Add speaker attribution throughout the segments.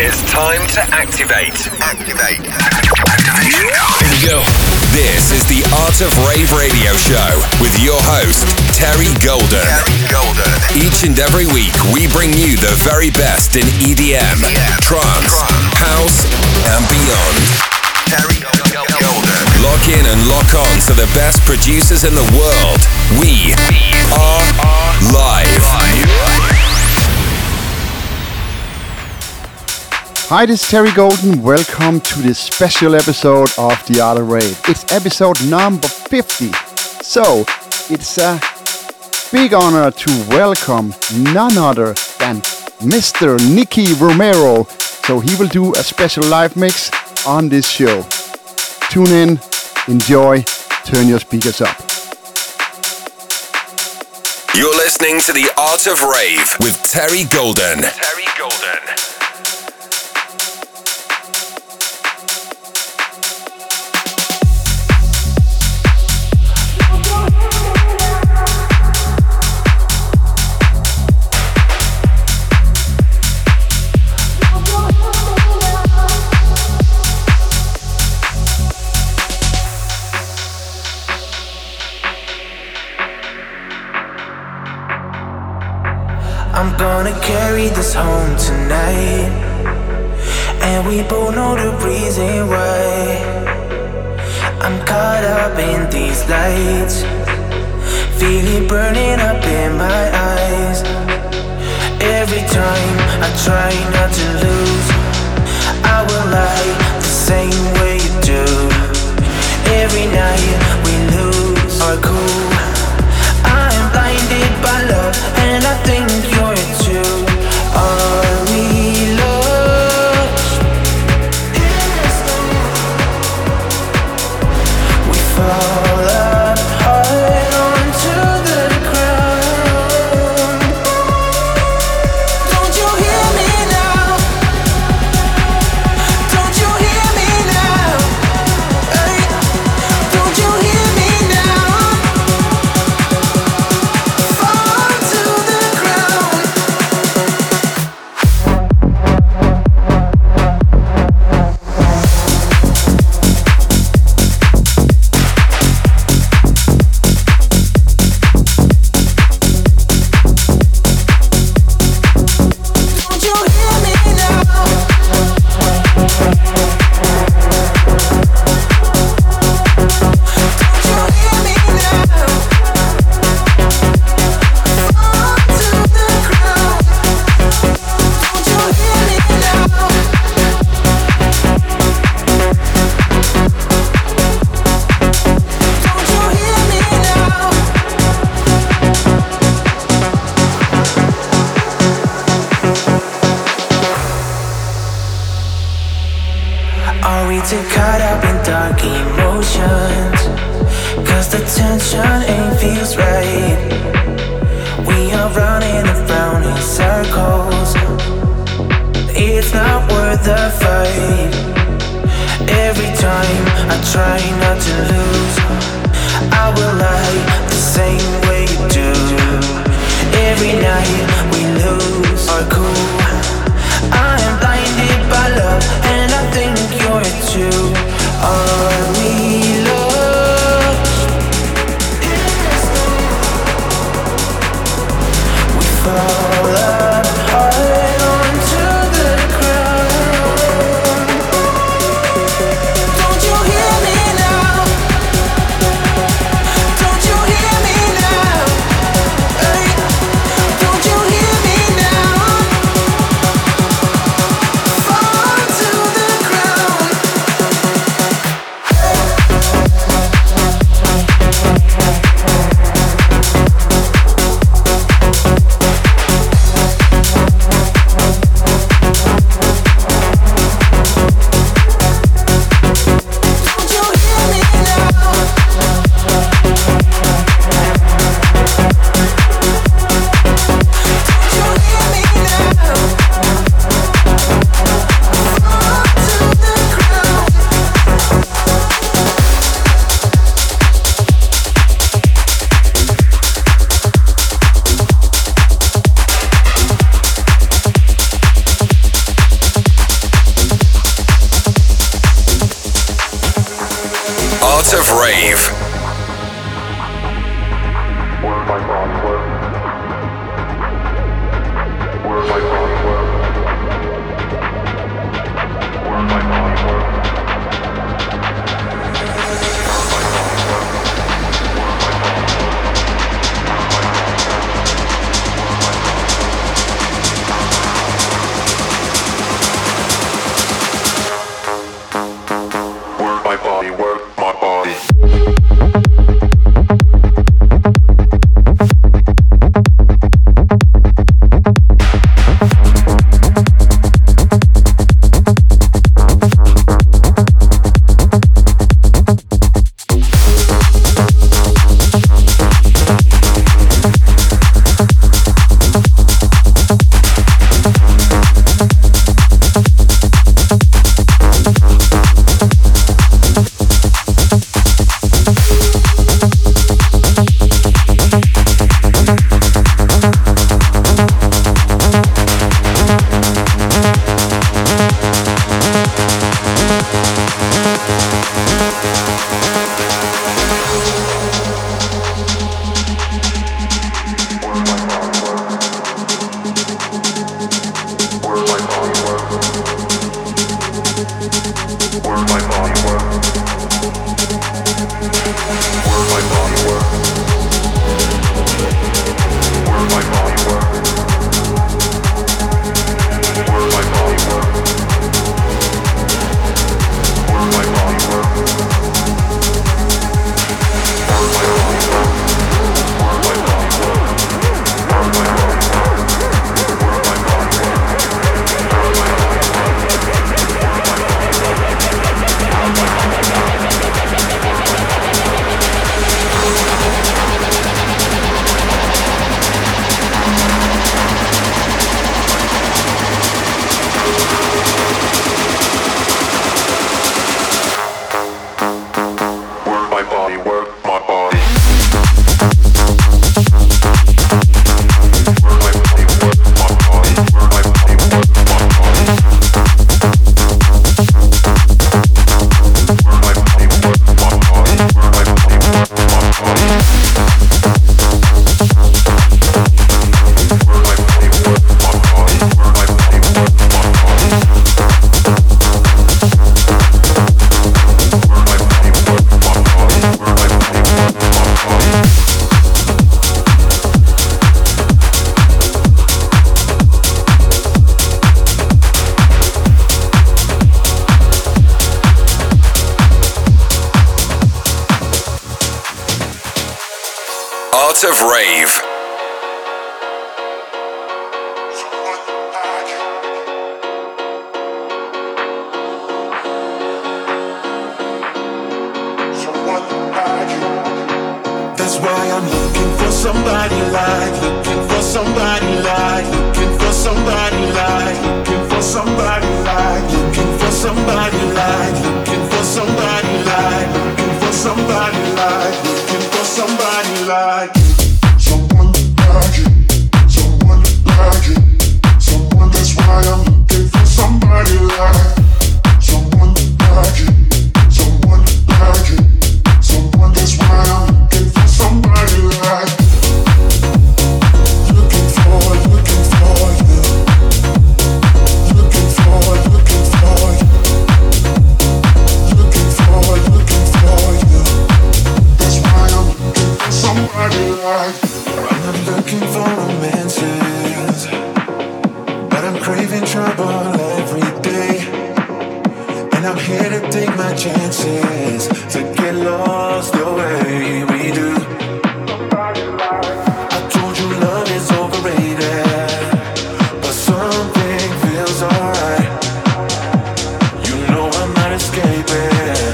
Speaker 1: It's time to activate.
Speaker 2: Activation code.
Speaker 1: Here we go. This is the Art of Rave radio show with your host, Terry Golden. Each and every week, we bring you the very best in EDM, trance, house, and beyond.
Speaker 2: Terry Golden.
Speaker 1: Lock in and lock on to the best producers in the world. We are live.
Speaker 3: Hi, this is Terry Golden. Welcome to this special episode of The Art of Rave. It's episode number 50. So, it's a big honor to welcome none other than Mr. Nicky Romero. So he will do a special live mix on this show. Tune in, enjoy, turn your speakers up.
Speaker 1: You're listening to The Art of Rave with Terry Golden.
Speaker 4: I'm gonna carry this home tonight, and we both know the reason why. I'm caught up in these lights, feel it burning up in my eyes. Every time I try not to lose, I will lie the same way you do. Every night we lose our cool. I am blinded by love, and I think you're too. Are we lost? We fall apart onto the ground. Don't you hear me now? Don't you hear me now? Hey, don't you hear me now? Fall to the ground. Don't you hear me now? Don't you hear me now? Fall to the ground. Don't you hear me now? Don't you hear me now? Are we too caught up in dark emotions? Cause the tension ain't feels right. We are running around in circles. It's not worth the fight. Every time I try not to lose, I will lie the same way you do. Every night we lose our cool. I am blinded by love, and I think you're too. Are we lost? We fall apart onto the ground. Don't you hear me now? Don't you hear me now? Hey, don't you hear me now?
Speaker 1: Art of Rave. Art of Rave.
Speaker 5: That's why I'm looking for somebody like, looking for somebody like, looking for somebody like, looking for somebody like, looking for somebody like, looking for somebody like, looking for somebody like, looking for somebody like, someone like you, someone like you, someone. That's why I'm looking for somebody like, someone like you, someone like you, someone. That's why I'm looking for somebody like, looking for you, looking for you, looking for you, that's why I'm looking for somebody like. I'm not looking for romances, but I'm craving trouble every day, and I'm here to take my chances, to get lost the way we do. I told you love is overrated, but something feels alright. You know I'm not escaping,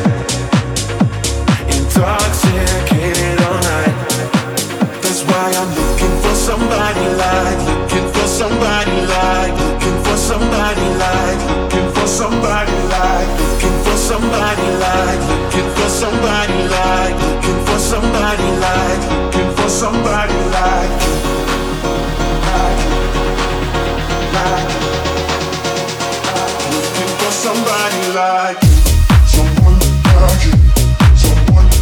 Speaker 5: intoxicated all night. That's why I'm looking for somebody like, looking for somebody like, looking for somebody like, looking for somebody like, looking for somebody like, looking for somebody like, looking for somebody like, looking for somebody like, looking for somebody like, someone like you, someone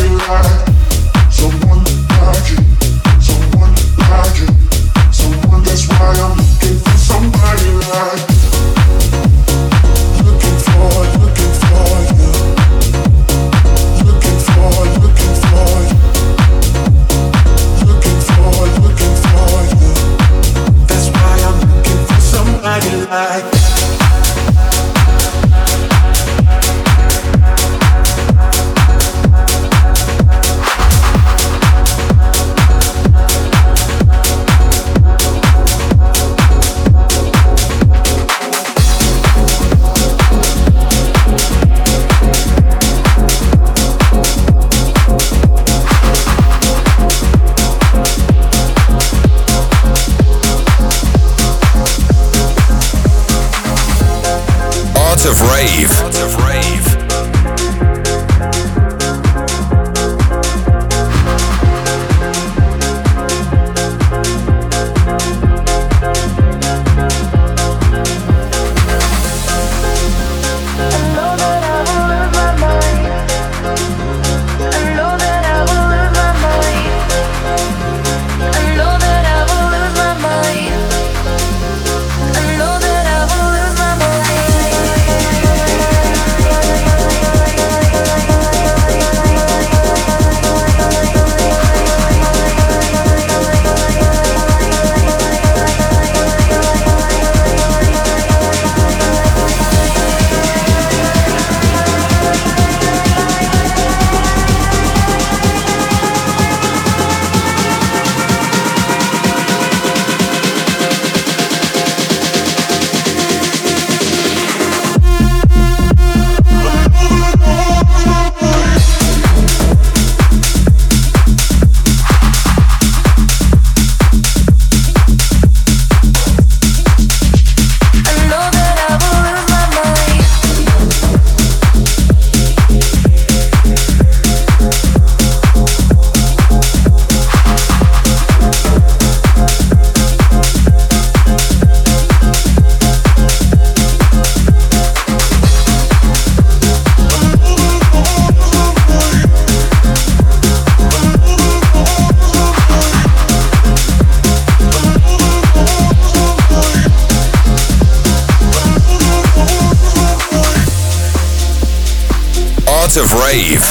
Speaker 1: Art of Rave.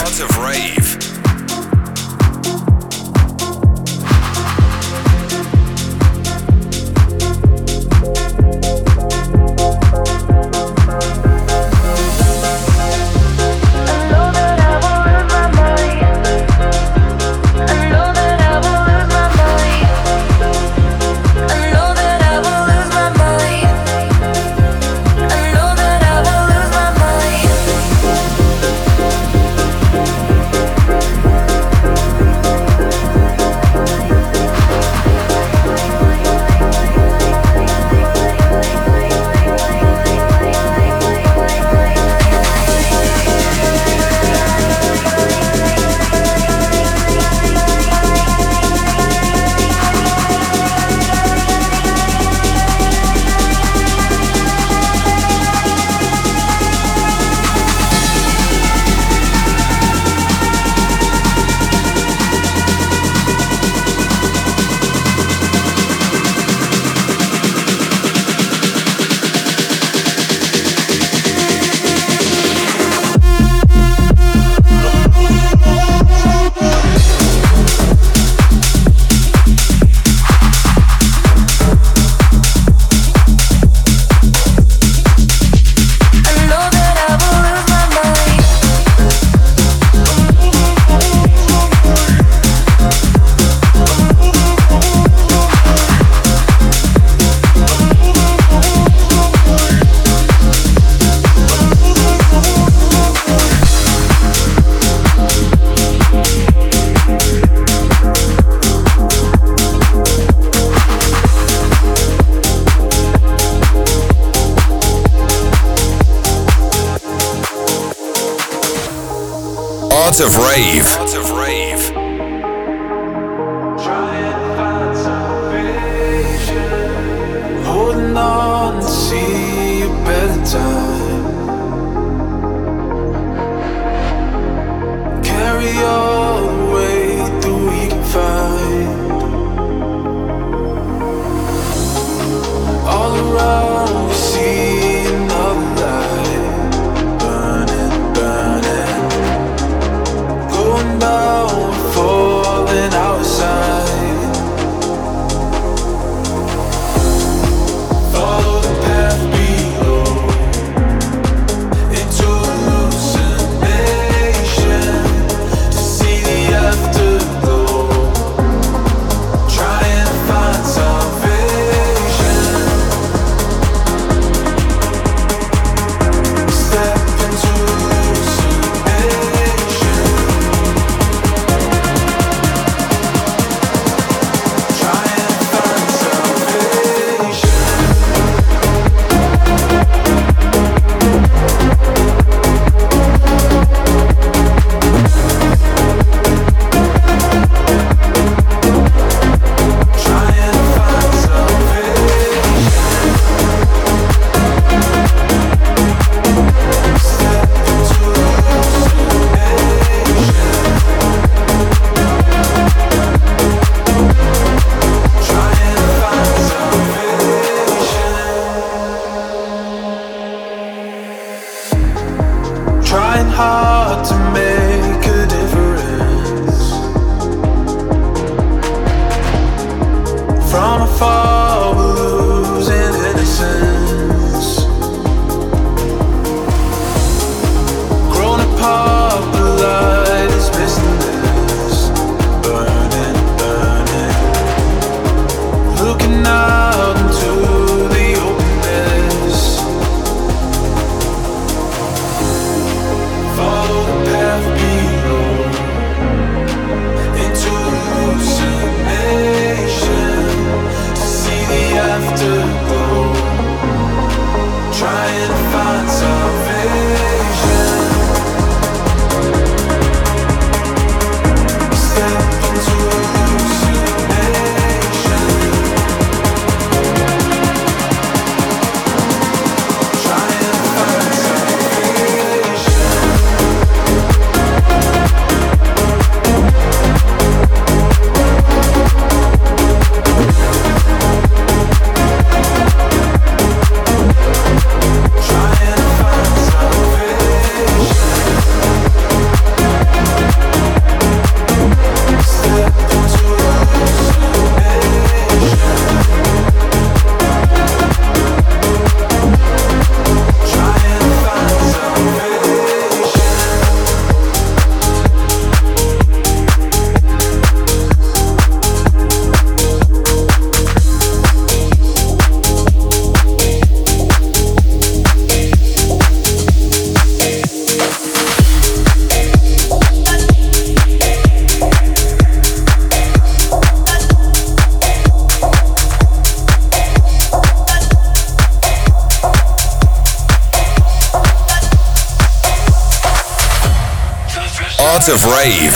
Speaker 1: Art of Rave. Art of Rave.
Speaker 6: Try and find salvation, holding on to see a better time. Carry on. fall, we're losing innocence. Grown apart, the light is missing this. Burning, burning. Looking out into the openness. Follow the path below into hallucination to see the afterglow. Trying to find salvation. Step into hallucination. Trying to find salvation. Trying to find salvation. Step into hallucination. Trying to find
Speaker 1: Art of Rave.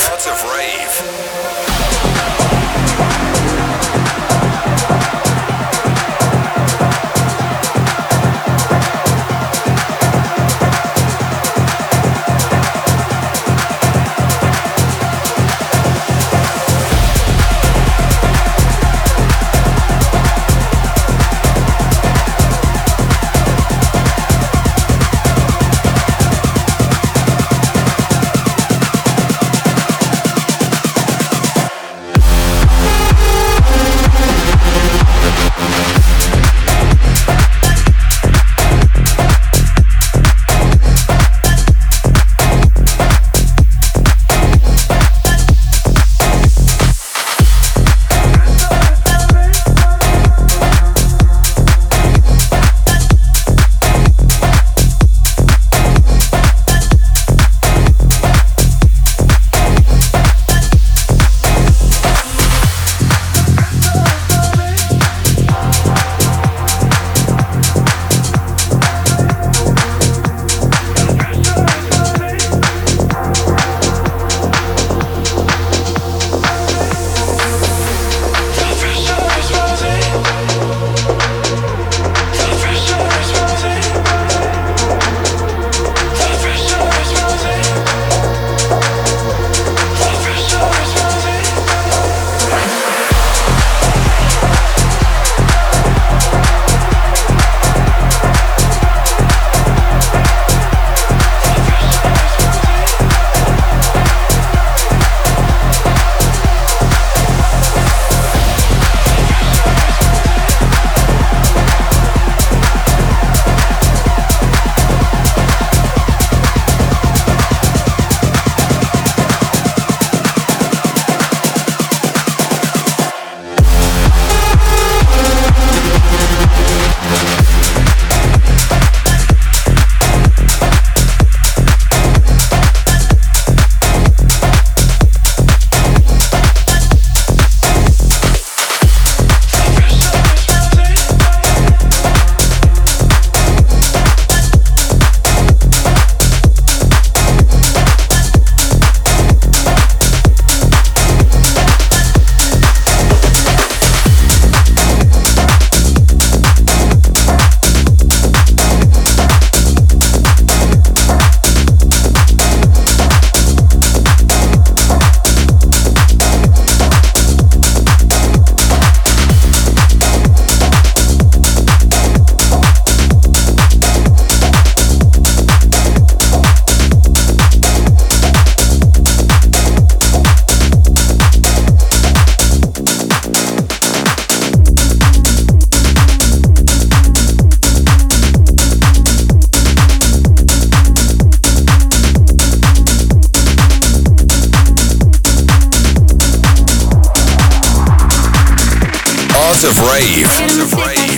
Speaker 1: Art of Rave. Art of Rave.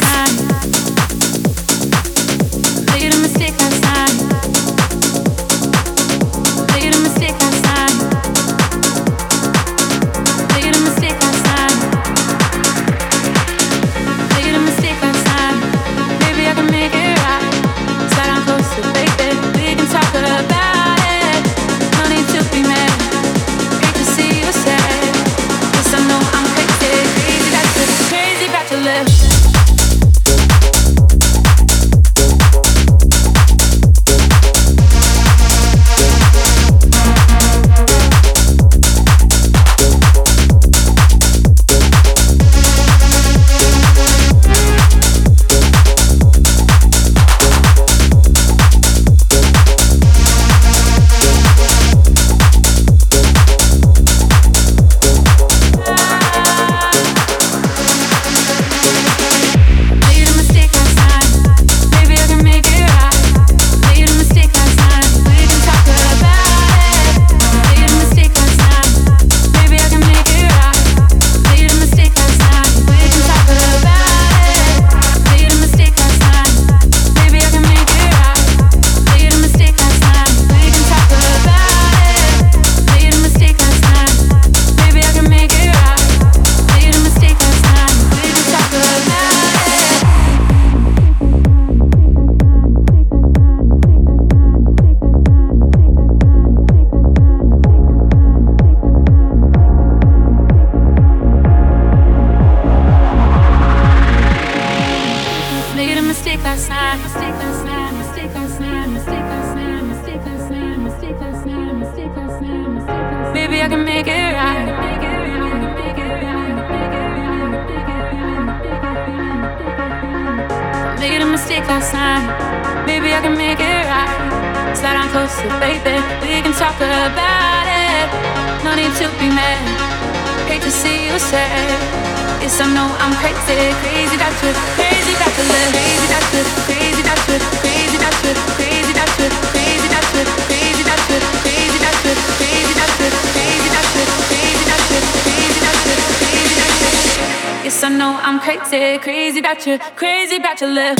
Speaker 7: Crazy about your love.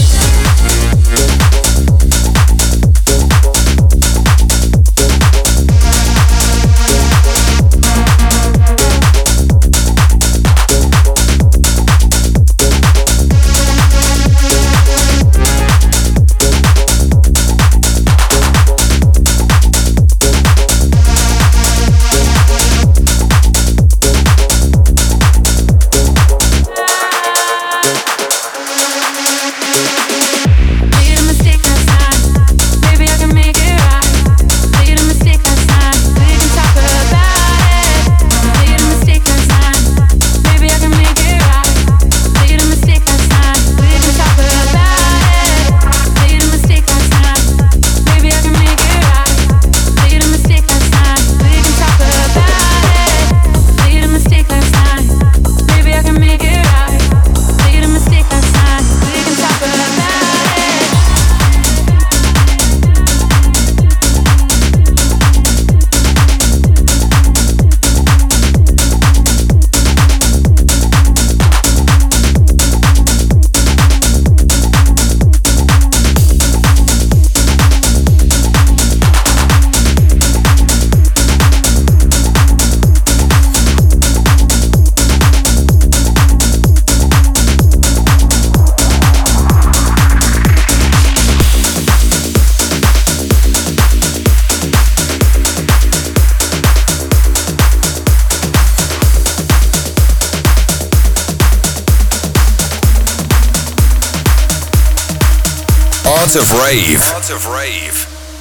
Speaker 1: Art of Rave. Art of Rave.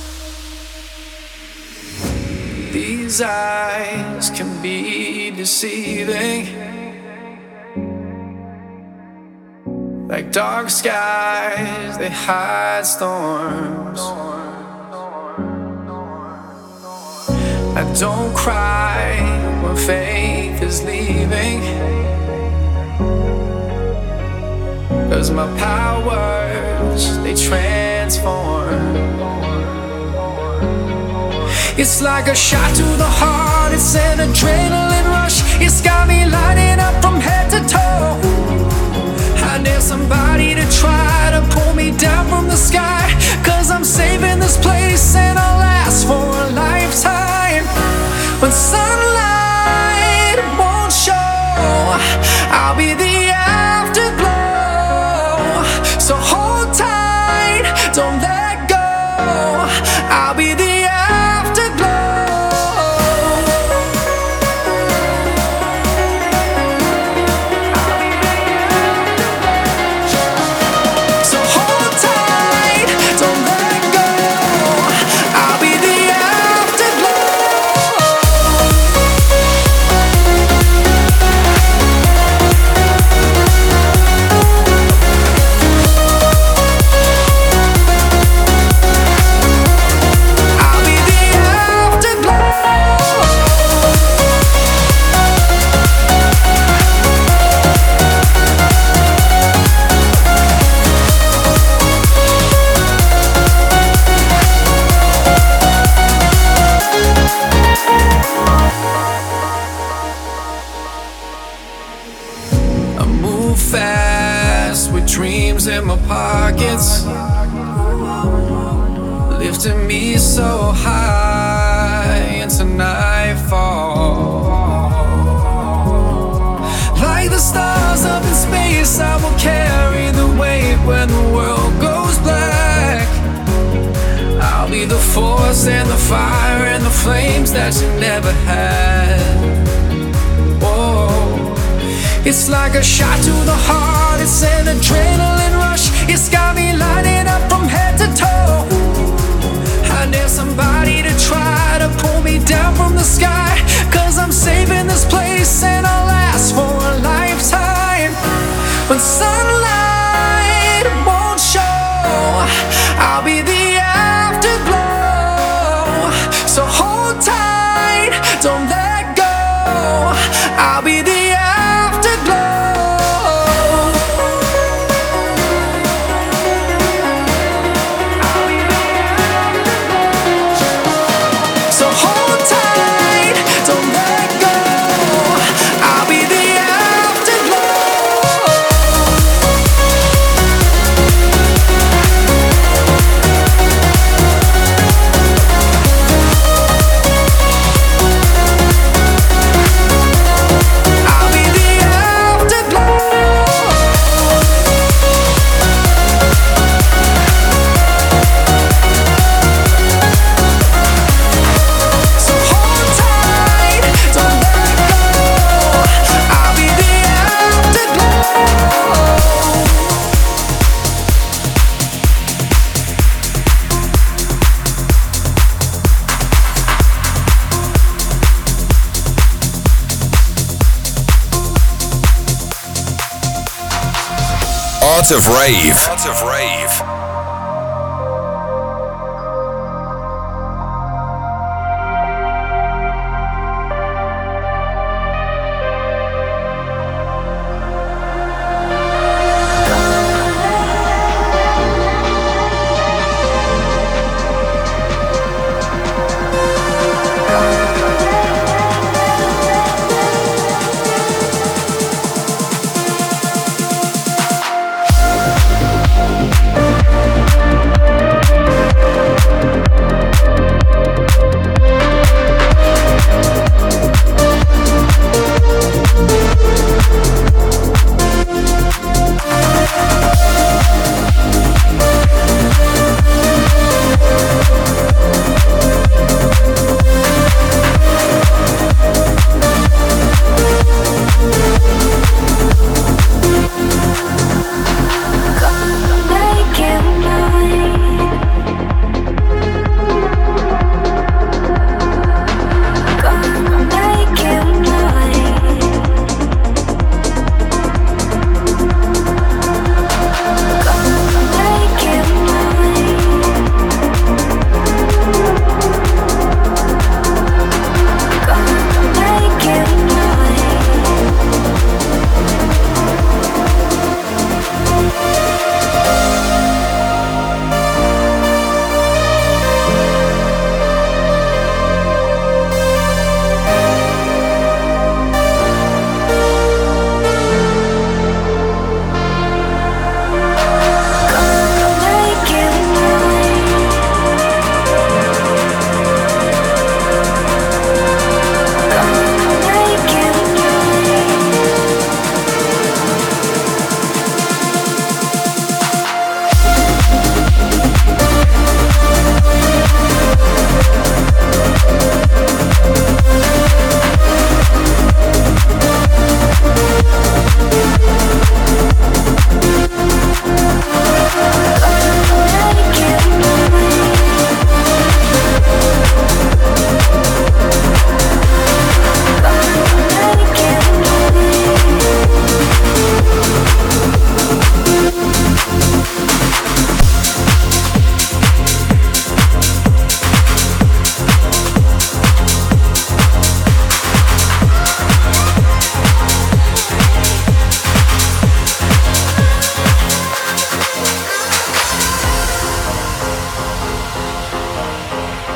Speaker 6: These eyes can be deceiving, like dark skies, they hide storms. I don't cry when faith is leaving, 'cause my powers, they transform. It's like a shot to the heart, it's an adrenaline rush. It's got me lighting up from head to toe. to try to pull me down from the sky. Cause I'm saving this place and I'll last for a lifetime. When sunlight won't show, I'll be the afterglow. So hold tight, don't let go. I'll be the in my pockets, lifting me so high into nightfall. Like the stars up in space, I will carry the weight when the world goes black. I'll be the force and the fire and the flames that you never had. Whoa. It's like a shot to the heart, it's an adrenaline rush. It's got me lighting up from head to toe. I need somebody to try to pull me down from the sky. Cause I'm saving this place and I'll last for a lifetime. When sunlight won't show, I'll be the afterglow. So hold tight, don't let go. I'll be the
Speaker 1: Art of Rave. Art of Rave.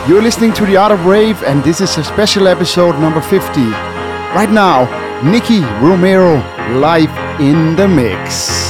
Speaker 3: You're listening to The Art of Rave, and this is a special episode number 50. Right now, Nicky Romero live in the mix.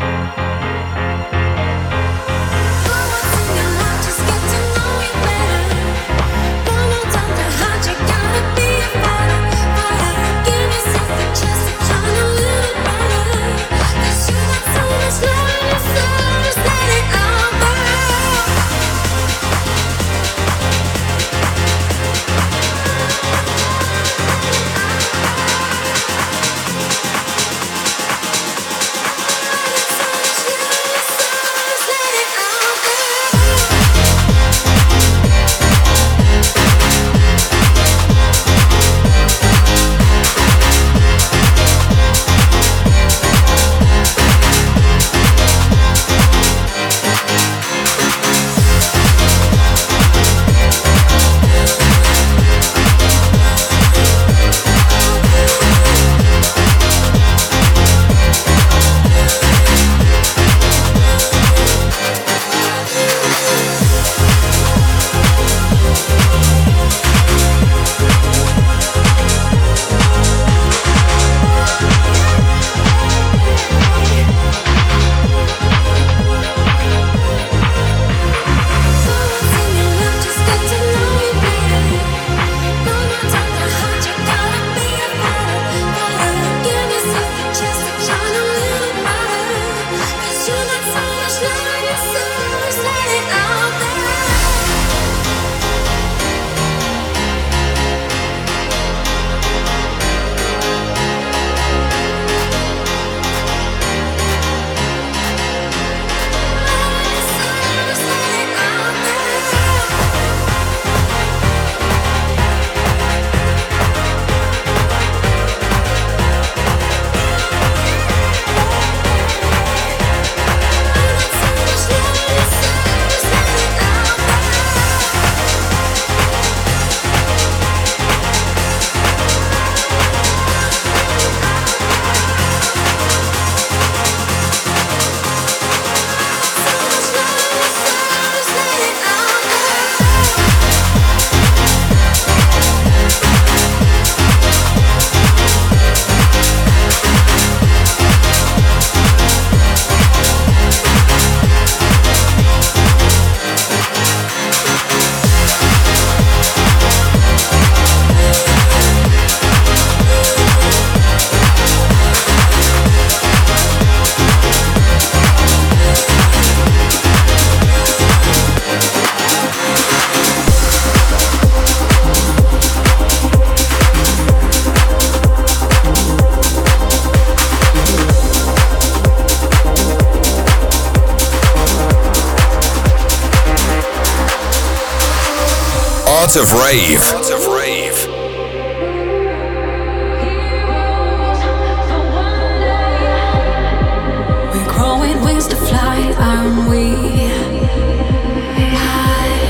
Speaker 1: Art of Rave. Art of Rave.
Speaker 7: We're growing wings to fly, aren't we? High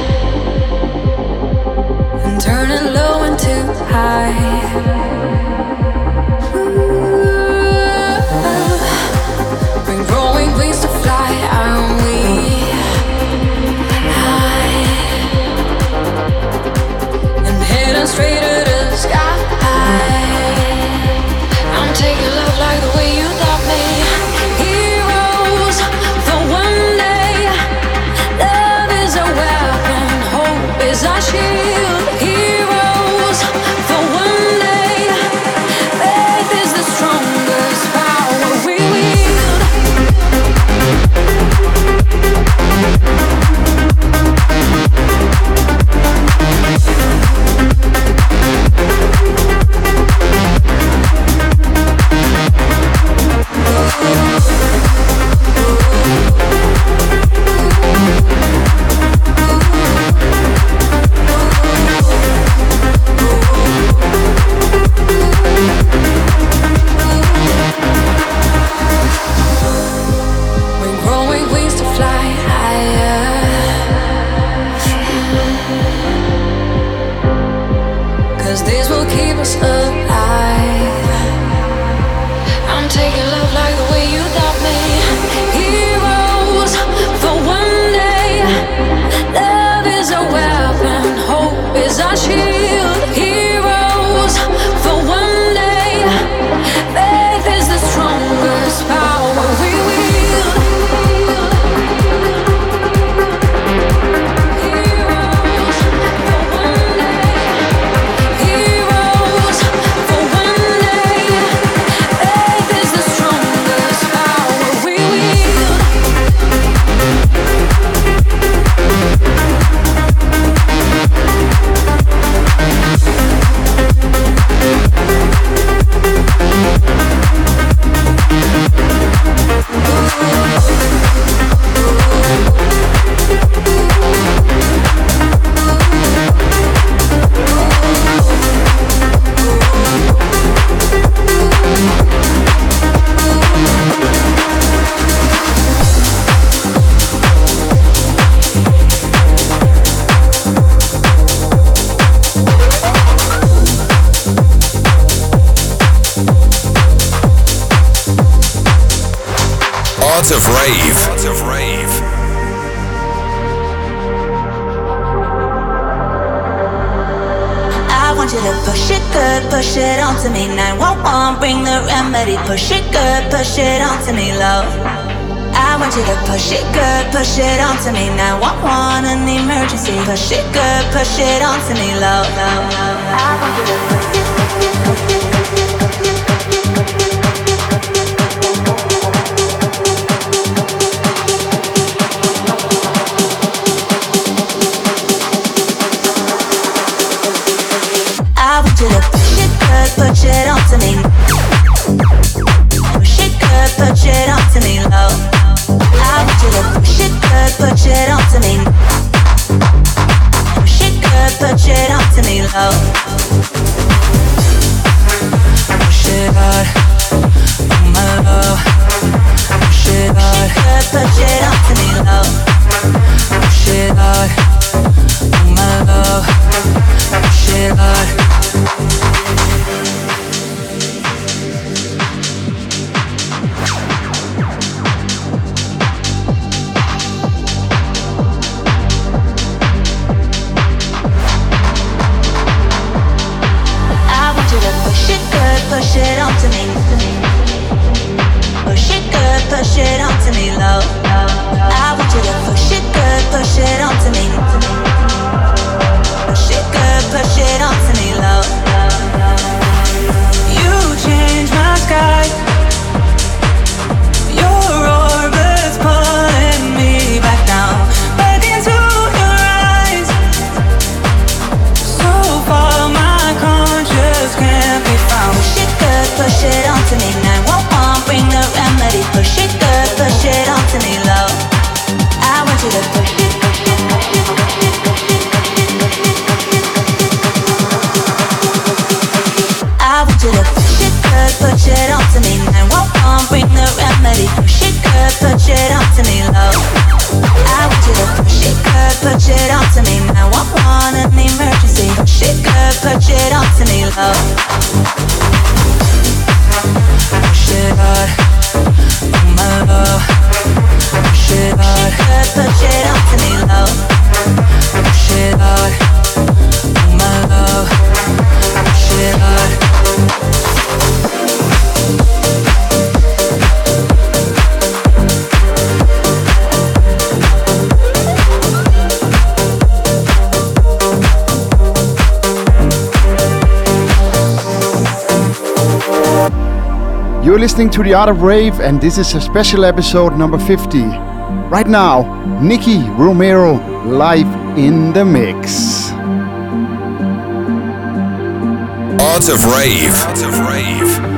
Speaker 7: and turning low into high. We're growing wings to fly, aren't we? Straight to the sky. I'm taking love like the way you got me. Heroes for one day.
Speaker 1: Art of Rave. Art of Rave.
Speaker 8: I want you to push it good, push it onto me. 911, bring the remedy. Push it good, push it onto me, love. I want you to push it good, push it onto me. 911, an emergency. Push it good, push it onto me, love. I want you to push it. Push it onto me. Push it good, push it onto me, love. I want you to push it good, push it onto me. Push it good, push it onto me, love. Push it hard, oh my love. Push it hard, push it onto me, love. Push it hard, oh my love. Push it hard. Push it onto me. Push it good, push it onto me, love. I want you to push it good, push it onto me. Push it good, push it onto me, love. You change my sky. Your orbit's pulling me back down, back into your eyes. So far my conscience can't be found. Push it onto me, 911, bring the remedy. Push it good, push it onto me, love. I want you to push it, push it, push it, push it, push it, push it, push it, push it. I want you to push it good, push it onto me, 911, bring the remedy. Push it good, push it onto me, love. I want you to push it good, push it onto me, 911, an emergency. Push it good, push it onto me, love. Push it hard, oh my love. Push it hard, push it onto me, love. Push it hard, oh my love. Push it hard.
Speaker 3: You're listening to The Art of Rave, and this is a special episode number 50. Right now, Nicky Romero live in the mix.
Speaker 1: Art of Rave. Art of Rave.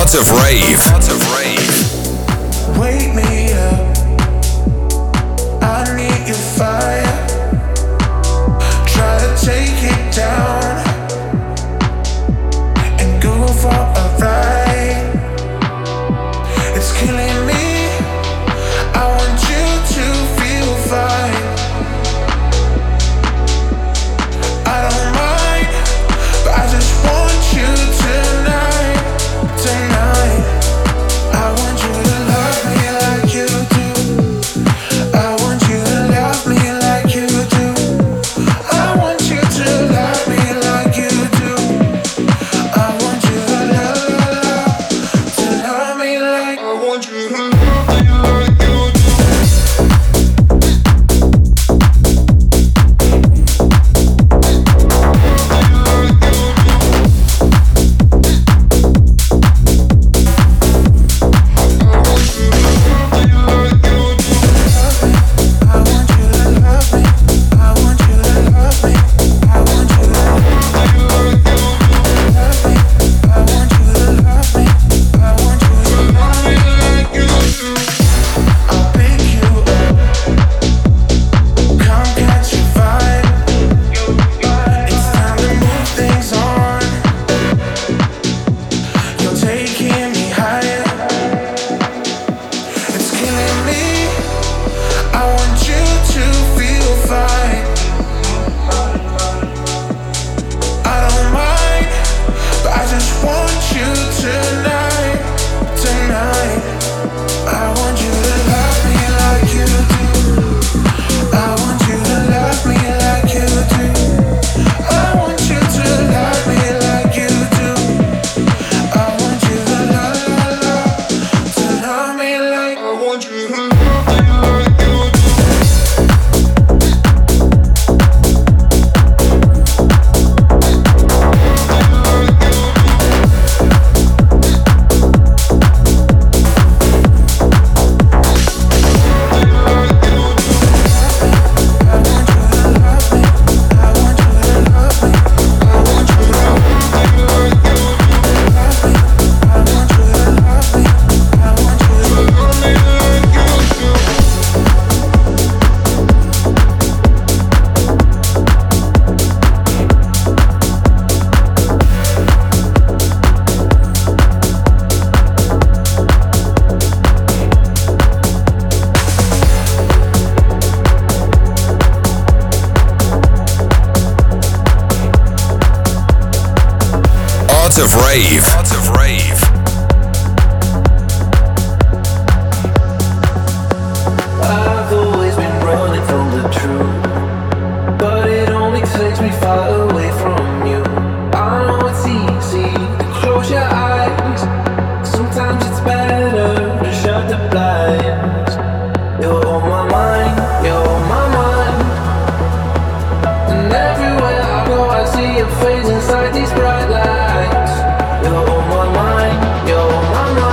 Speaker 1: Art of Rave.
Speaker 5: Wake me up. I need your fire. Try to take it down and go for a ride. It's killing me. I want you to feel fine. I don't mind, but I just want you tonight. Tonight, I want you to love me like you do. I want you to love me like you do. I want you to love me like you do. I want you to love me like I want you to love me like you do.
Speaker 1: Art of Rave. Art of Rave.
Speaker 9: I've always been running from the truth, but it only takes me far away from you. I know it's easy to close your eyes. Sometimes it's better to shut the blinds. You're on my mind, you're on my mind. And everywhere I go I see your face inside these bright lights. You're on my mind, you're on my mind.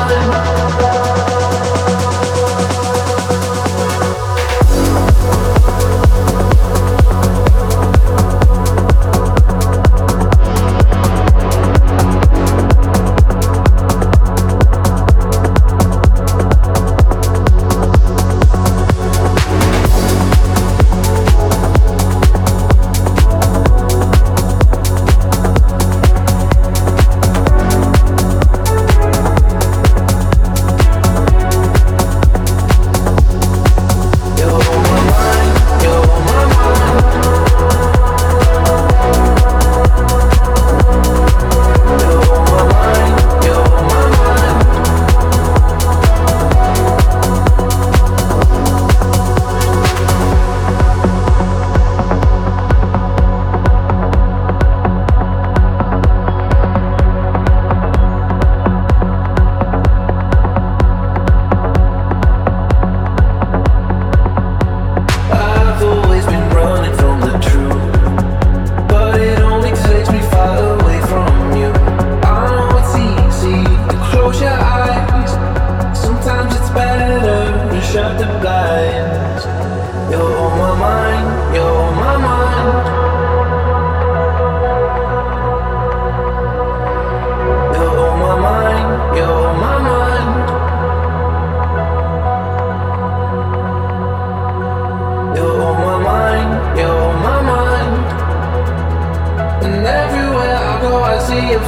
Speaker 9: You're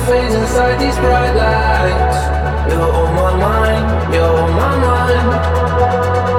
Speaker 9: fades inside these bright lights. You're on my mind, you're on my mind.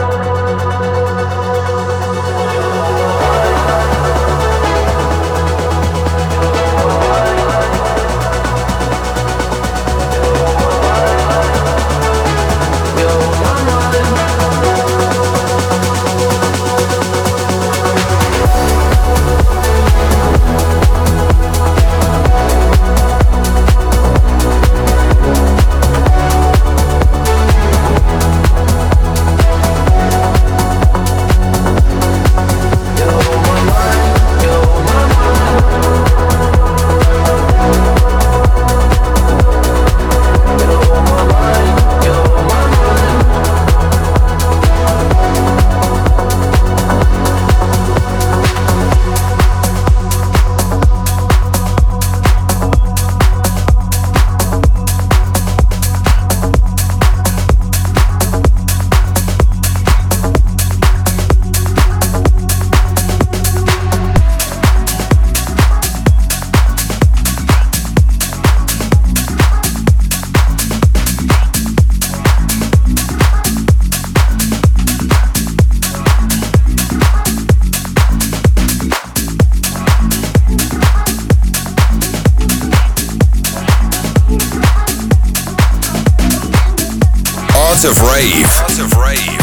Speaker 1: Art of Rave. Art of Rave.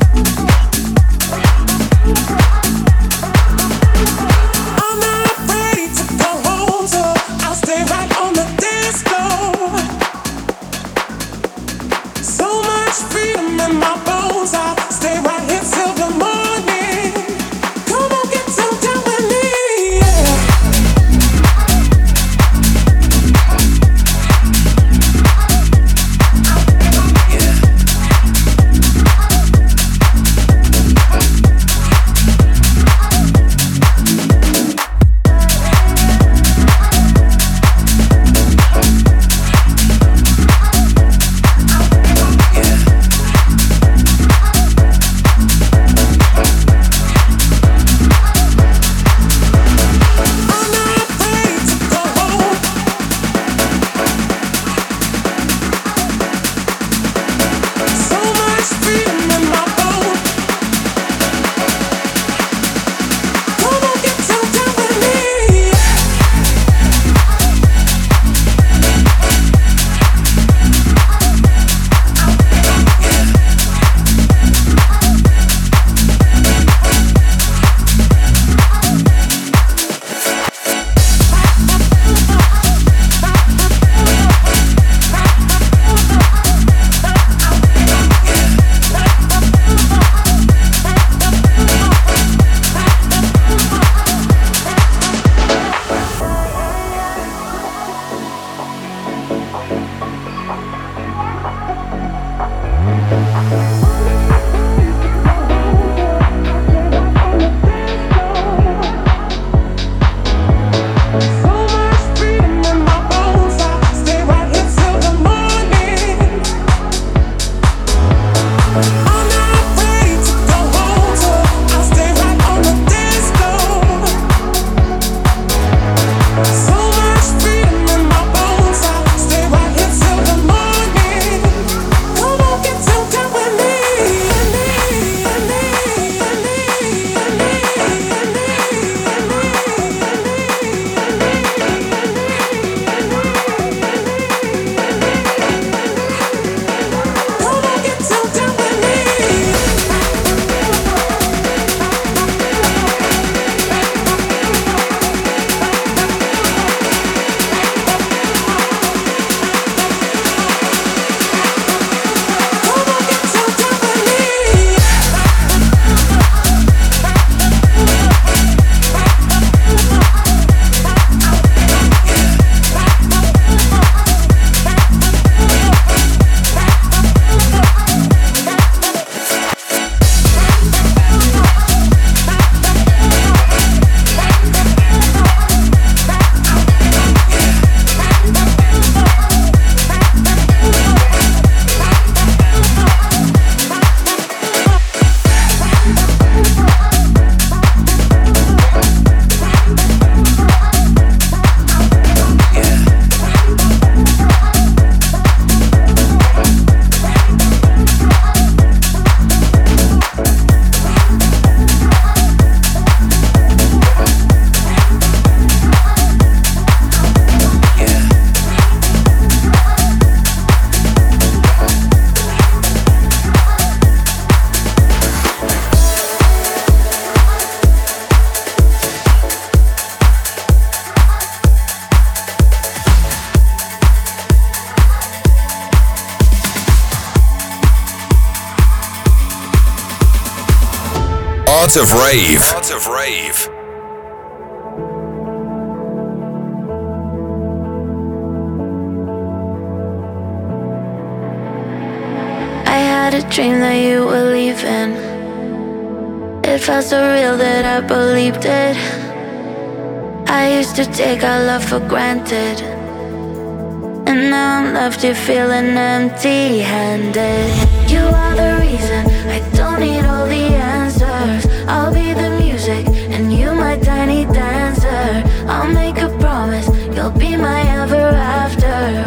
Speaker 6: I'm not ready to go home, so I'll stay right on the dance floor. So much freedom in my bones, I'll stay right here till the morning. Come on, get so down with me, yeah.
Speaker 1: Art of Rave. Art of Rave.
Speaker 10: I had a dream that you were leaving. It felt so real that I believed it. I used to take our love for granted, and now I'm left here feeling empty-handed. You are the reason I don't need all the answers. I'll be the music and you my tiny dancer. I'll make a promise, you'll be my ever after.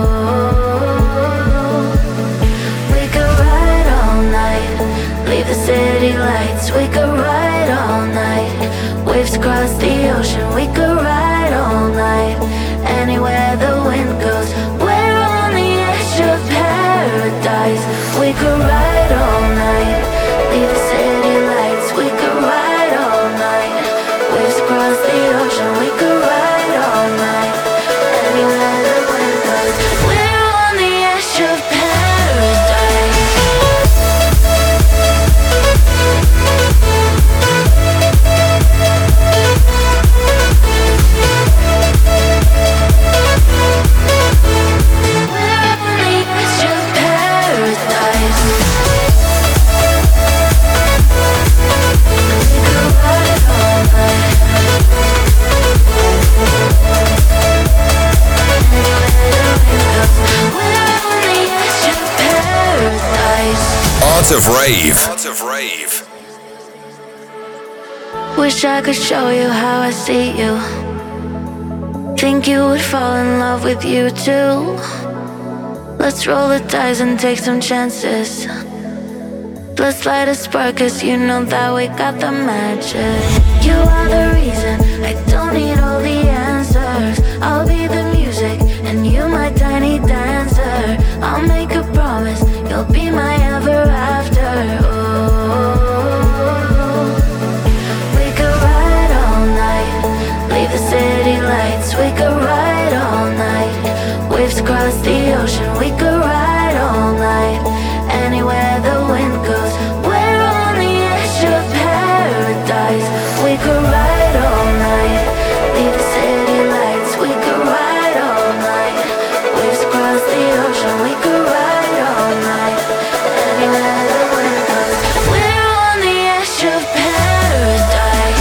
Speaker 10: Oh, we could ride all night, leave the city lights. We could ride all night, waves across the ocean. We could ride all night, anywhere the wind goes. We're on the edge of paradise. We could ride all night, leave the city lights. We could ride all night, waves across the ocean. We could ride all night, anywhere the wind goes. We're on the edge of paradise.
Speaker 1: Art of Rave. Art of Rave.
Speaker 10: Wish I could show you how I see you. Think you would fall in love with you too. Let's roll the dice and take some chances. Let's light a spark, cause you know that we got the magic. You are the reason I don't need all the answers. I'll be the music and you my tiny dancer. I'll make a promise, you'll be my ever after. Oh, we could ride all night, leave the city lights. We could ride all night, waves across the ocean. We could ride all night, anywhere the wind goes. We're on the edge of paradise. We could ride all night, leave the city lights. We could ride all night, waves across the ocean. We could ride all night, anywhere the wind goes. We're on the edge of paradise.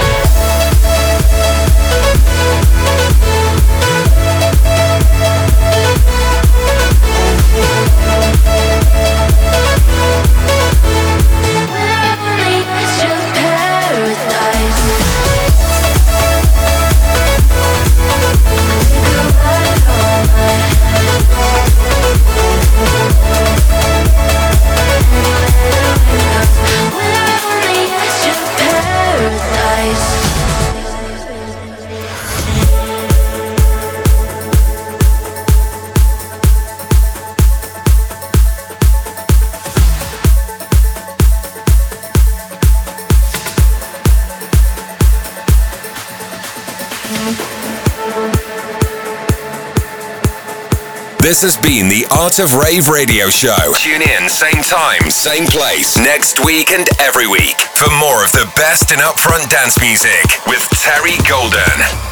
Speaker 1: This has been the Art of Rave radio show. Tune in, same time, same place, next week and every week for more of the best in upfront dance music with Terry Golden.